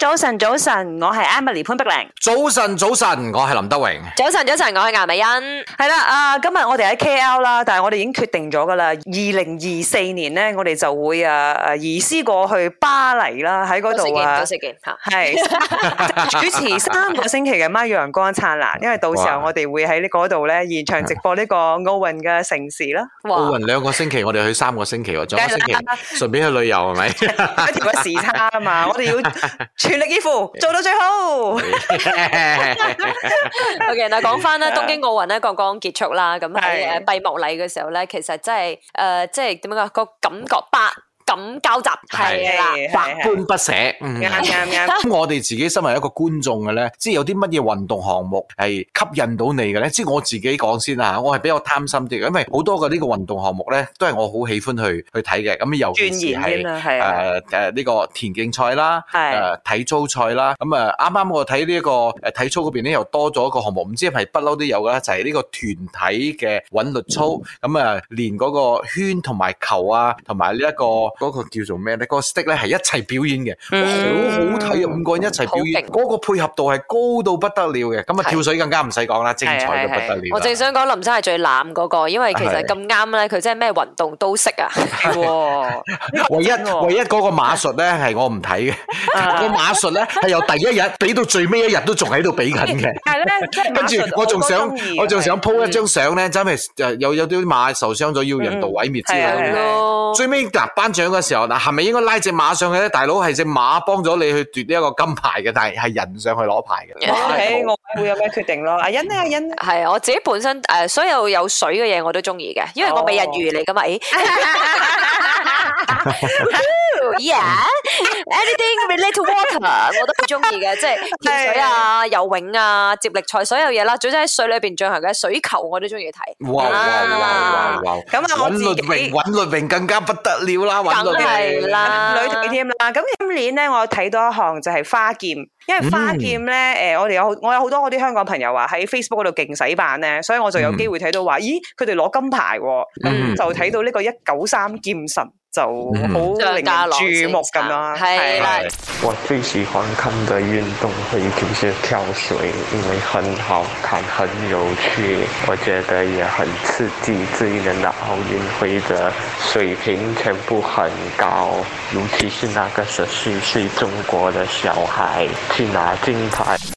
早晨，早晨，我係 Emily 潘碧玲。 早晨，早晨，我係林德榮。 早晨，早晨，我係顏美欣。 係啦，今日我哋喺 KL 啦，但係我哋已經決定咗噶啦。2024年咧，我哋就會移師過去巴黎啦，喺嗰度多食件係主持3個星期嘅《媽陽光燦爛》，因為到時候我哋會喺呢嗰度咧現場直播呢個奧運嘅盛事啦。 奧運2個星期，我哋去3個星期喎，仲有1個星期順便去旅遊係咪？ 一條嘅時差啊嘛，我哋要全力以赴做到最好。 OK， 嗱講翻咧，東京奧運咧剛剛結束啦，咁喺閉幕禮嘅時候咧，其實真係即係點樣講個感覺咁交集係啦， 百般不捨。啱。我哋自己身為一個觀眾嘅咧，即係有啲乜嘢運動項目係吸引到你嘅咧？即係我自己講先啦，我係比較貪心啲嘅，因為好多嘅呢個運動項目咧，都係我好喜歡去睇嘅。咁尤其是係呢個田徑賽啦，體操賽啦。咁啱啱我睇呢一個體操嗰邊咧，又多咗一個項目，唔知係咪不嬲都有嘅啦，就係呢個團體嘅韻律操。咁連嗰個圈同埋球啊，同埋呢一個嗰個叫做咩咧？嗰個 stick 咧係一齊表演嘅，好好睇啊！5個人一齊表演，嗰個配合度係高到不得了嘅。咁跳水更加唔使講啦，精彩到不得了。 我正想講林生係最濫嗰個，因為其實咁啱咧，佢真係咩運動都識啊！ 唯一嗰個馬術咧係我唔睇嘅，個馬術咧係由第一日俾到最尾一日都仲喺度俾緊嘅。 係咧， 跟住我仲想 po 一張相咧，真係有啲馬受傷咗，要人道毀滅之類嘅。最尾嗱頒獎嘅時候，嗱係咪應該拉隻馬上去咧？大佬係隻馬幫咗你去奪呢一個金牌嘅，但係人上去攞牌嘅。 OK，我會有咩決定咯？阿欣咧，阿欣係我自己本身所有有水嘅嘢我都中意嘅，因為我美人魚嚟噶嘛。Yeah，anything relate to water 我都好中意嘅，即係跳水啊、游泳啊、接力賽所有嘢啦，總之喺水裏邊進行嘅水球我都中意睇。 哇！ 咁啊，我自己韻律泳更加不得了啦，韻律泳係啦， 女隊添啦。咁今年咧，我有睇到一項就係花劍，因為花劍咧，我有好多嗰啲香港朋友話喺 Facebook 嗰度勁洗版咧，所以我就有機會睇到話，咦，佢哋攞金牌喎，咁就睇到呢個193劍神。就好令人注目咁啦，係啦。 我最喜歡看的運動會就是跳水，因為很好看、很有趣，我覺得也很刺激。這一年的奧運會的水平全部很高，尤其是那個14歲中國的小孩去拿金牌。